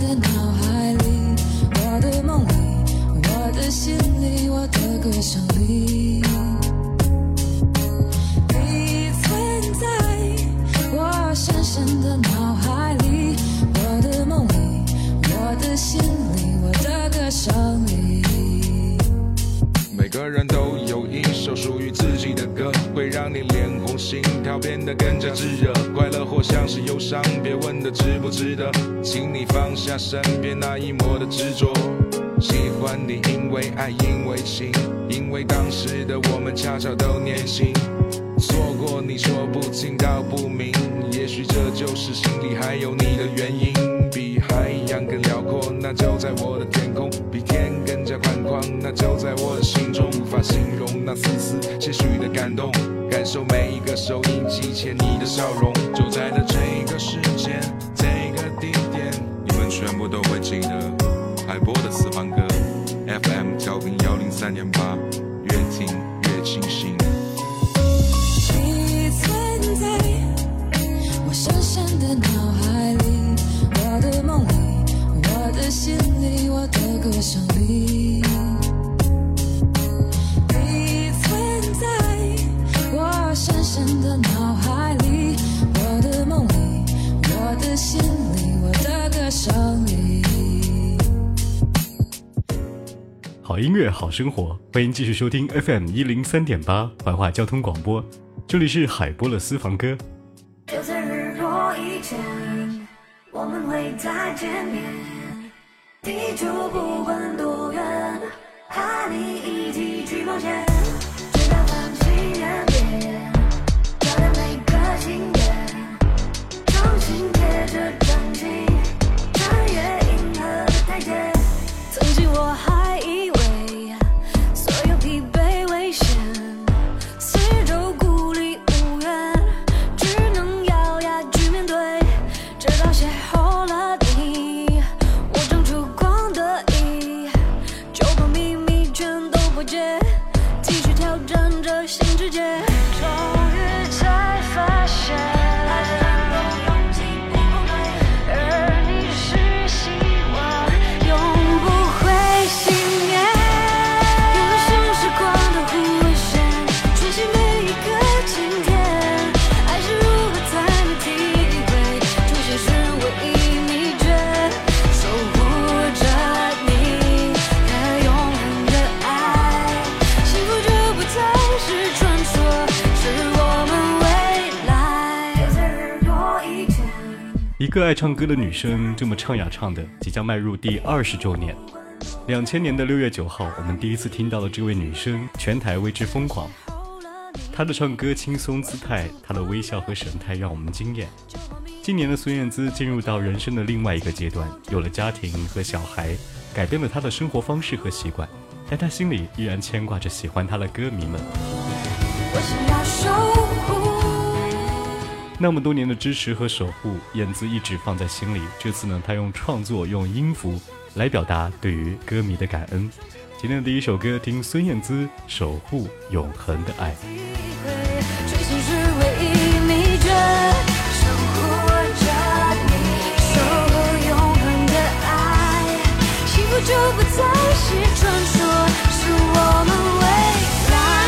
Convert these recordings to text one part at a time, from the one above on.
的脑海里，我的梦里，我的心里，我的歌声里，你存在我深深的脑海里，我的梦里，我的心里，我的歌声里。 每个人都有一首属于自己的歌，会让你脸红心跳变得更加炙热，快乐或像是忧伤，别问的值不值得，请你放下身边那一抹的执着。喜欢你因为爱，因为情，因为当时的我们恰巧都年轻，错过你说不清道不明，也许这就是心里还有你的原因。比海洋更辽阔，那就在我的天空，比天更加宽广，那就在我的心中，无法形容那丝丝些许的感动，感受每一个收音机前你的笑容，就在了这个时间这个地点，你们全部都会记得海波的私房歌 FM 调频103.8，越听越清醒。 你存在我深深的脑海里，我的梦里，我的心里，我的歌声里，你存在我深深的脑海里，我的梦里，我的心里，我的歌声里。 好音乐好生活，欢迎继续收听 FM 103.8怀化交通广播，这里是海波的私房歌。 就在日落以前，我们会再见面，地球不管多远，和你一起去冒险，直到繁星点点，照亮每个晴天，重新贴着掌心，穿越银河的台阶。曾经我还以为所有疲惫危险四周孤立无援，只能咬牙去面对，直到邂逅了你，我长出光的意，就把秘密全都破解，继续挑战着新世界。终于才发现一个爱唱歌的女生这么唱呀唱的，即将迈入第20周年。2000年的6月9号，我们第一次听到了这位女生，全台为之疯狂。她的唱歌轻松姿态，她的微笑和神态让我们惊艳。今年的孙燕姿进入到人生的另外一个阶段，有了家庭和小孩，改变了她的生活方式和习惯，但她心里依然牵挂着喜欢她的歌迷们。 我想要守护那么多年的支持和守护，燕姿一直放在心里。这次呢，她用创作，用音符来表达对于歌迷的感恩。今天的第一首歌，听孙燕姿《守护永恒的爱》。 追寻是唯一秘诀，守护着你，守护永恒的爱，幸福就不再是传说，是我们未来。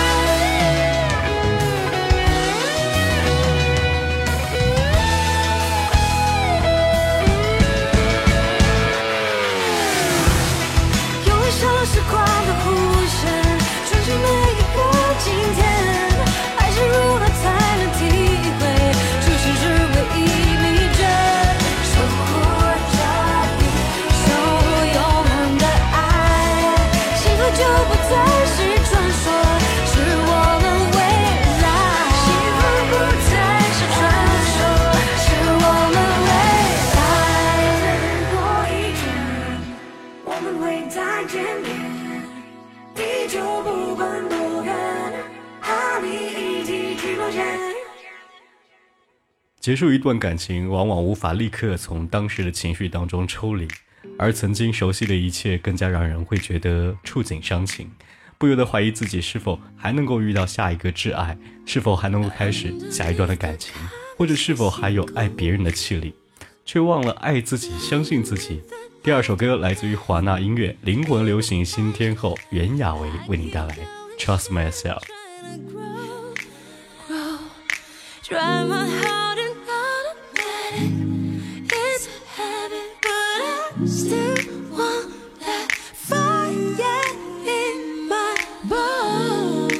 时光的弧线，穿行每一个今天，爱是如何才能体会，这些是唯一秘诀，守护着你，守护永恒的爱，幸福就不再是传说，是我们未来，幸福不再是传说，是我们未来。在日落以前，我们会再见面，地球不管多远，和你一起去冒险。 结束一段感情，往往无法立刻从当时的情绪当中抽离，而曾经熟悉的一切更加让人会觉得触景伤情，不由得怀疑自己是否还能够遇到下一个挚爱，是否还能够开始下一段的感情，或者是否还有爱别人的气力，却忘了爱自己，相信自己， 第二首歌来自于华纳音乐灵魂流行新天后袁娅维为你带来 Trust Myself。 Try my heart and automatic. It's a habit, but I still want that fire in my bones.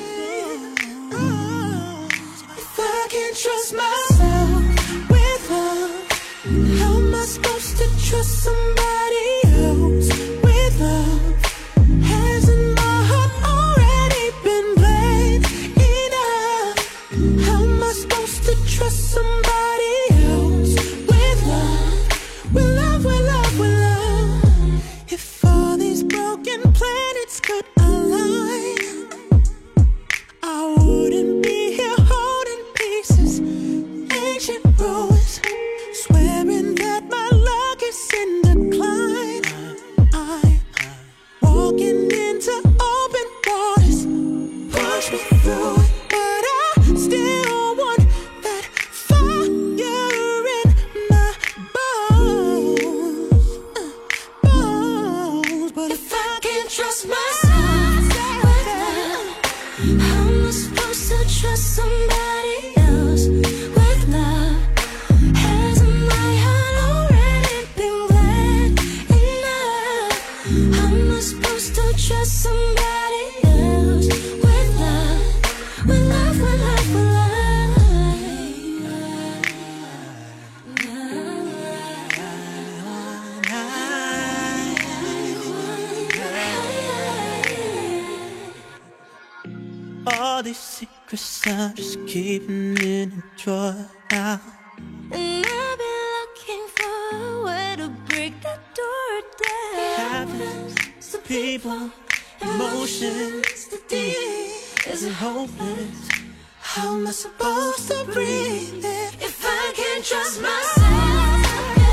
If I can't trust myself with love, how am I supposed to trust somebody else with love? Hasn't my heart already been played enough? How am I supposed to trust somebody else with love? With love, with love, with love. If all these broken planets could align, I wouldn't be here holding pieces, ancient ruins, swearing that my luck is in decline. I'm walking into open waters, push me through it, but I still want that fire in my bones, bones. But if I can't trust myself with love, how am I supposed to trust somebody else with love? Hasn't my heart already been glad enough? How am I supposed to trust somebody else with love? With love, with love, with love. All these secrets I'm just keeping in a drawer now. And I've been looking for a way to break that door down. Happens to people, emotions, the deep. Is it hopeless? How am I supposed to breathe it if I can't trust myself?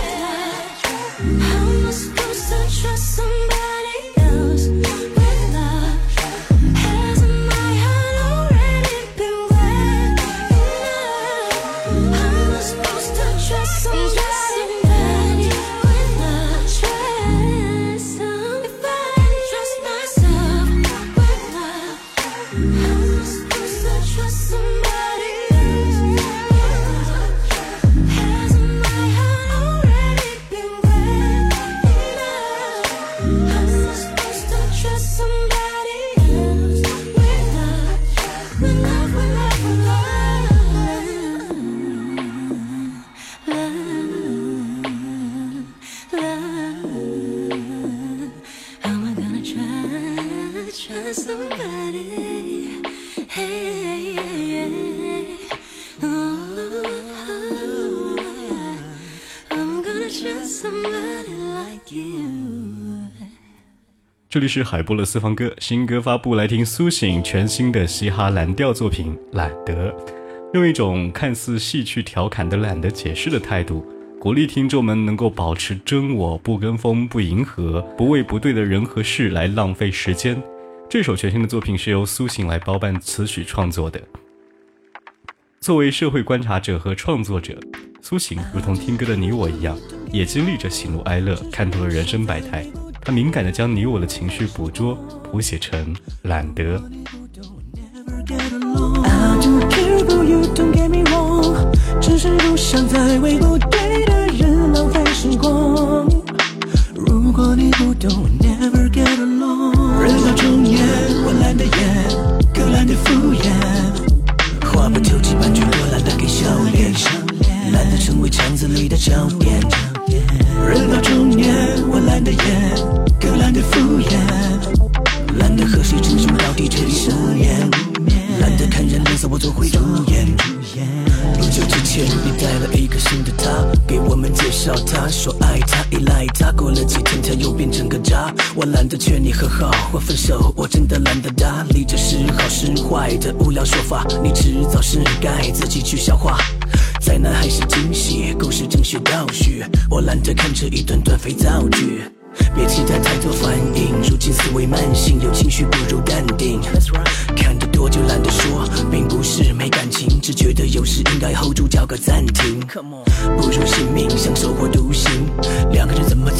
How am I supposed to trust somebody else with love? Hasn't my heart already been glad enough? How am I supposed to trust somebody with love? Trust if I can't trust myself with love. How am I supposed to trust somebody else with love? Hasn't my heart already been glad enough? How am I supposed to trust somebody else with love? With love, with love, with love. How am I gonna trust somebody? Hey, oh, I'm gonna trust somebody like you. 这里是海波的私房歌，新歌发布，来听苏醒全新的嘻哈蓝调作品《懒得》，用一种看似戏谑调侃的懒得解释的态度，鼓励听众们能够保持真我，不跟风，不迎合，不为不对的人和事来浪费时间。这首全新的作品是由苏醒来包办词曲创作的。作为社会观察者和创作者，苏醒如同听歌的你我一样，也经历着喜怒哀乐，看透了人生百态。他敏感地将你我的情绪捕捉，谱写成懒得。 I don't care about you, don't get me wrong， 只是不想再为不对的人浪费时光。如果你不懂 ，never get along。人到中年，我懒得演，更懒得敷衍，话不投机半句多，懒得给笑脸，懒得成为肠子里的焦点。人到中年，我懒得演，更懒得敷衍，懒得和谁争什么到底这里失言。 懒得看人脸色，我总会主演。不久之前，你带了一个新的他，给我们介绍他，说爱他，依赖他。过了几天，他又变成个渣。我懒得劝你和好或分手，我真的懒得搭理这是好是坏的无聊说法。你迟早是该自己去消化。灾难还是惊喜，故事正学倒叙。我懒得看这一段段肥皂剧。 别期待太多反应，如今思维慢性，有情绪不如淡定。看得多就懒得说，并不是没感情，只觉得有时应该 hold 住，叫个暂停。不如性命，享受或独行，两个人怎么走下去？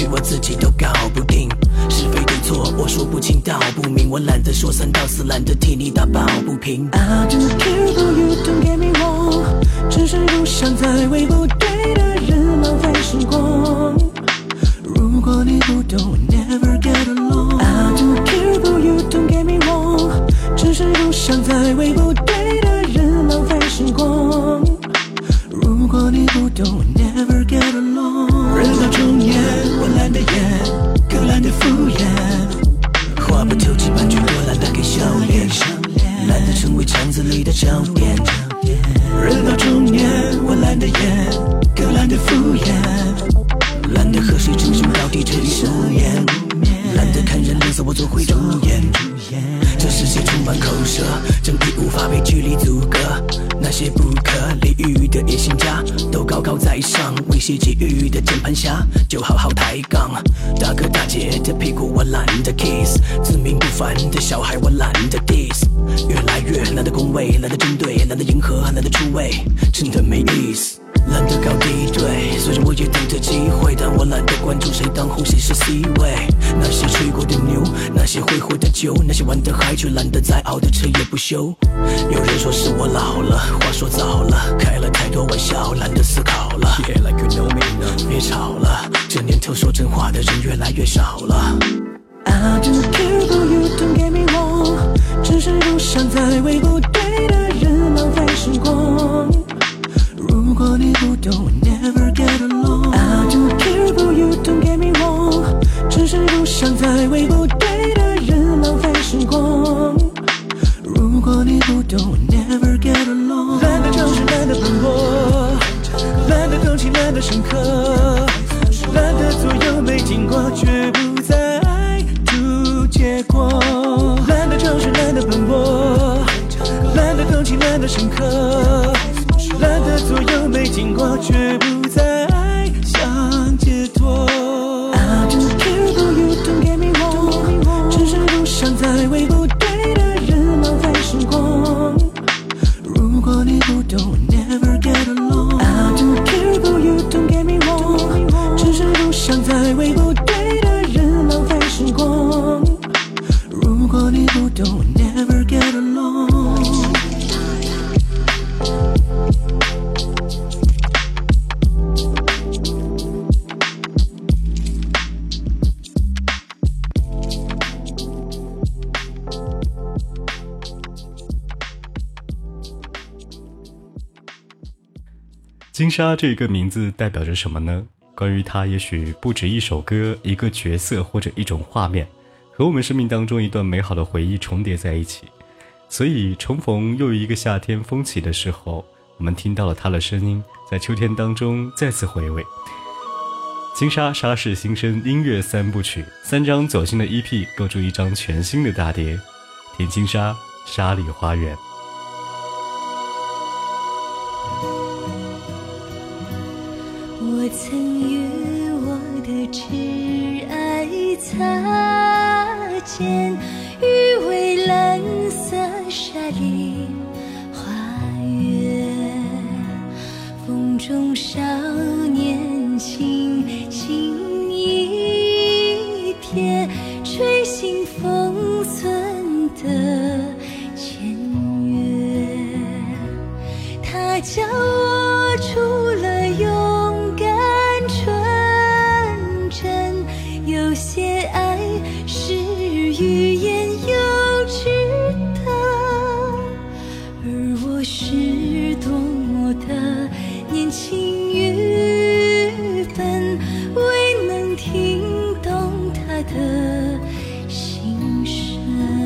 我自己都搞不定，是非对错我说不清道不明，我懒得说三道四，懒得替你打抱不平。 I don't care for you, don't get me wrong， 只是不想再为不对的人浪费时光。如果你不懂 never get along。 I don't care for you, don't get me wrong， 只是不想再为不对的人浪费时光。如果你不懂 never get along。 人到中年我懒得演，更懒得敷衍，话不投机半句多懒得给笑脸，懒得成为肠子里的焦点。人到中年我懒得演，更懒得敷衍，懒得和谁称兄道弟彻底无言，懒得看人脸色我做回主演。这世界充满口舌，正义无法被距离阻隔，那些不可理喻的野心家都高高在上，威胁给予的键盘侠就好好抬杠。大哥大姐的屁股我懒得 kiss， 自命不凡的小孩我懒得 diss， 越来越懒得恭维，懒得针对，懒得迎合，懒得出位，真的没意思。懒得搞敌对，虽然我也等着机会，但我懒得关注谁当红谁是 C 位。那些吹过的牛，那些挥霍的酒，那些玩得嗨却懒得再熬的彻夜不休。有人说是我老了，话说早了，开了太多玩笑，懒得思考了。Yeah, like you know me now， 别吵了，这年头说真话的人越来越少了。I don't care for you, don't get me wrong， 只是不想再为不对的人浪费时光。如果你不懂 never get along。 I don't care for you, don't get me wrong， 只是不想再为不对的人浪费时光。如果你不懂 never get along。 懒得正视，懒得奔波，懒得动情，懒得深刻，懒得左右没经过，却不再注结果。懒得正视，懒得奔波，懒得动情，懒得深刻，懒得左右没经过，却不再想解脱。I don't care for you, don't get me wrong， 只是不想再为不对的人浪费时光。如果你不懂 never get along。 I don't care for you, don't get me wrong， 只是不想再为不对的人浪费时光。如果你不懂 never get along。 金莎这个名字代表着什么呢？关于她也许不止一首歌，一个角色或者一种画面，和我们生命当中一段美好的回忆重叠在一起。所以重逢又一个夏天风起的时候，我们听到了她的声音，在秋天当中再次回味。金莎莎士新生音乐三部曲，3张走心的 EP 构筑一张全新的大碟。听金莎沙里花园。 我曾与我的挚爱擦肩，于蔚蓝色沙里花园，风中少年轻轻一瞥，吹醒封存的签约。它教我除了勇敢纯真，有些爱是欲言又止的，而我是多么的年轻愚笨，未能听懂他的心声。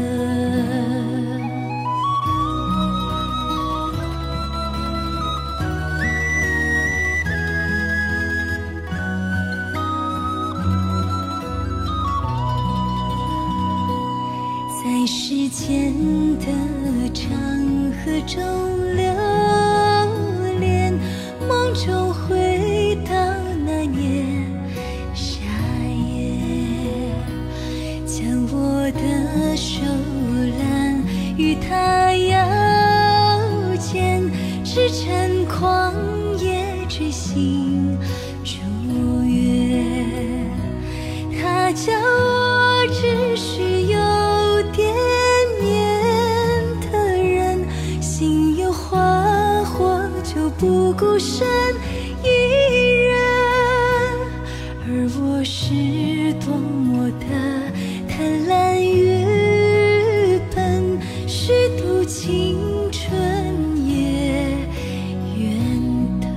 在时间的长河中流连，梦中回到那年夏夜，将我的手揽与他腰间，驰骋旷野追星逐月， 叫我只需有点面的人，心有花火就不孤身一人，而我是多么的贪婪愚笨，虚度青春也愿得。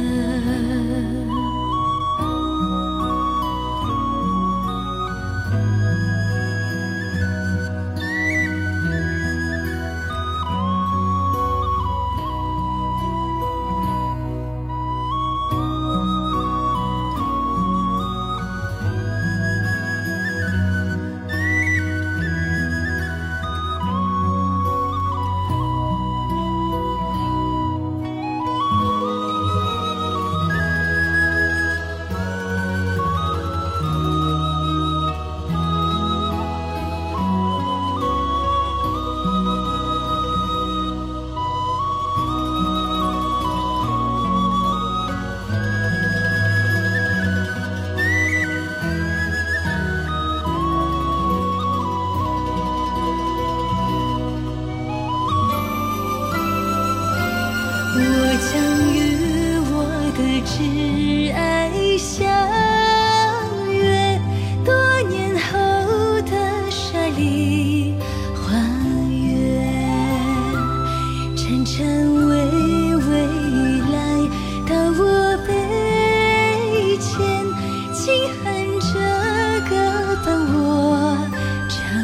我将与我的挚爱相约，多年后的沙砾花园，潺潺微微来到我背前，轻哼着歌伴我长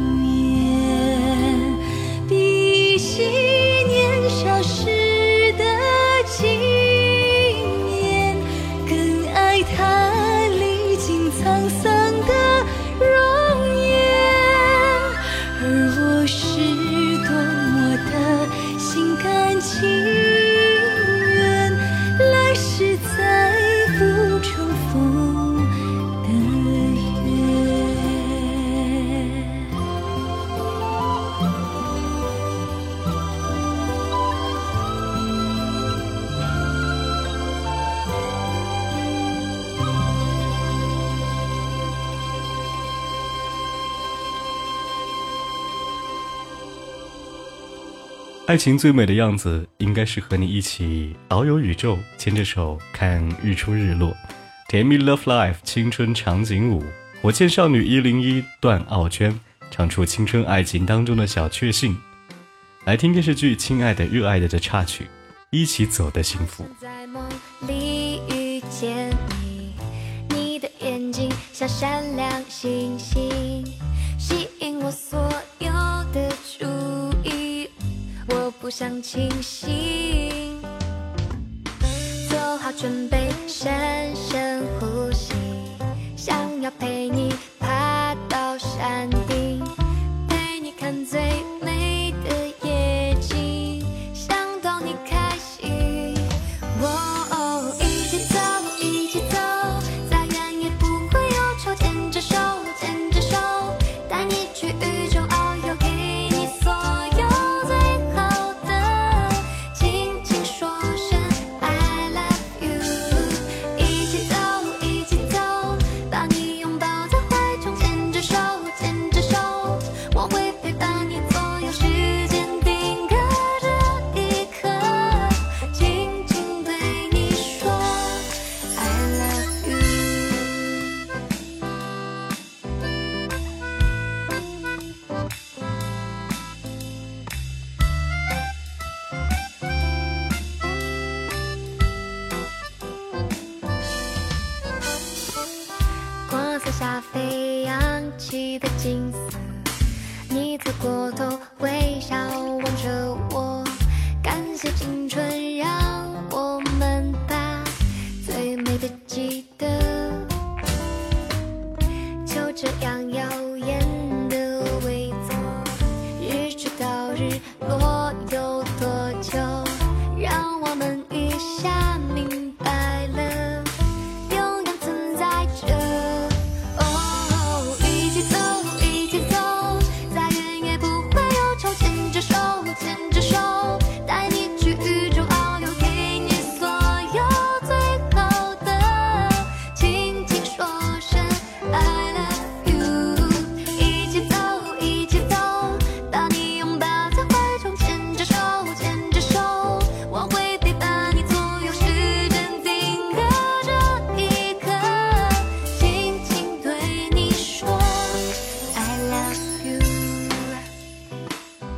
眠，比起年少时纪念，更爱他历经沧桑的容颜，而我是多么的心甘情愿，来世再不重逢的约。 爱情最美的样子，应该是和你一起遨游宇宙，牵着手看日出日落。甜蜜 Love Life 青春长颈舞，火箭少女101段奥娟唱出青春爱情当中的小确幸。来听电视剧《亲爱的热爱的》的插曲，一起走的幸福。 在梦里遇见你，你的眼睛像闪亮星星，吸引我所有的注意，我不想清醒，做好准备，深深呼吸，想要陪你爬到山顶，陪你看最美的夜景，想逗你开心。哦，一起走，一起走，再远也不会忧愁，牵着手，牵着手，带你去宇宙遨游，给你所有最好的，轻轻说声 I love you。一起走，一起走，把你拥抱在怀中，牵着手，牵着手，我会陪伴你左右，时间定格这一刻，轻轻对你说 I love you。光色下飞扬起的金色，你侧过头微笑望着我，感谢青春让我们把最美的记得，就这样耀眼的围坐，日出到日落有多久，让我们一下明白了，永远存在着。哦，一起走，一起走，再远也不会忧愁，牵着手，牵着手，带你去宇宙遨游，给你所有最好的，轻轻说声 I love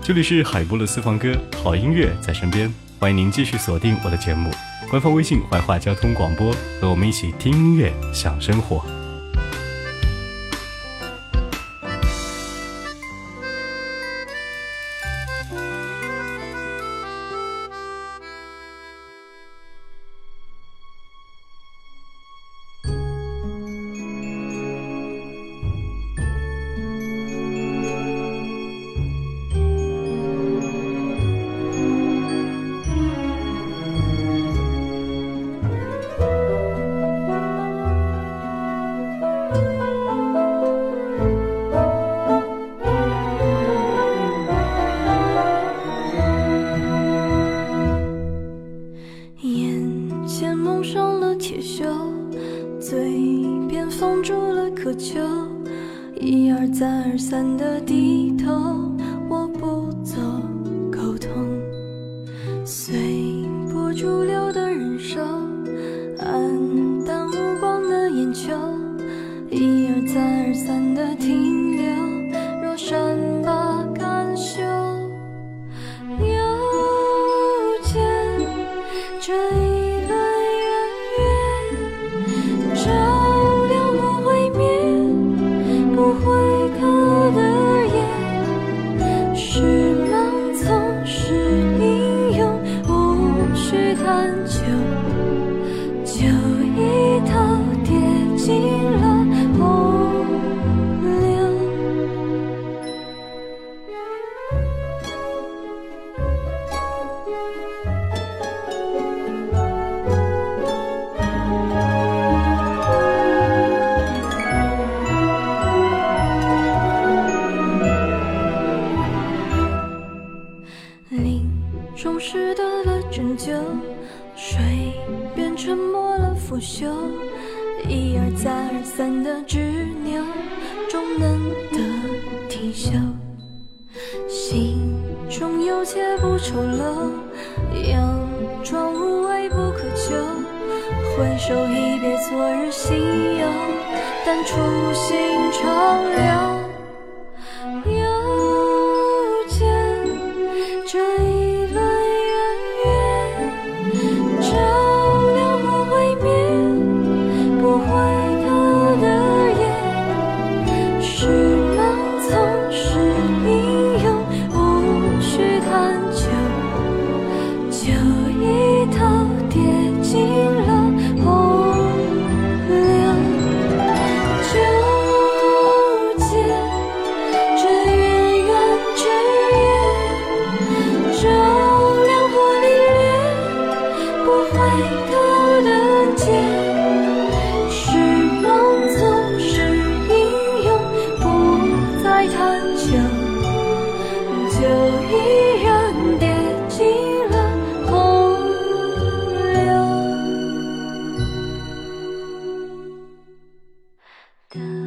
这里是海波的私房歌，好音乐在身边，欢迎您继续锁定我的节目，官方微信怀化交通广播，和我们一起听音乐，享生活。 一而再而三的低头，我不做沟通，随波逐流的人生，黯淡无光的眼球，一而再而三的停留，若善罢甘休。又见这一轮圆月，照亮我未眠不回头的夜，是盲从是英勇，无需探究，就一头跌进了洪流。林中时得了拯救，水变沉默了腐朽，一而再而三的执拗，终能得停休。心中有且不丑陋，佯装无畏不可求，回首一别昨日心忧，但初心长留。又见这一轮圆月，照亮我未眠不回头的夜，是盲从是英勇，无需探究，就一头跌进了洪流。就见这圆圆之夜，照亮我历练不回头的街，是盲从是英勇，不再探究，就依然跌进了洪流。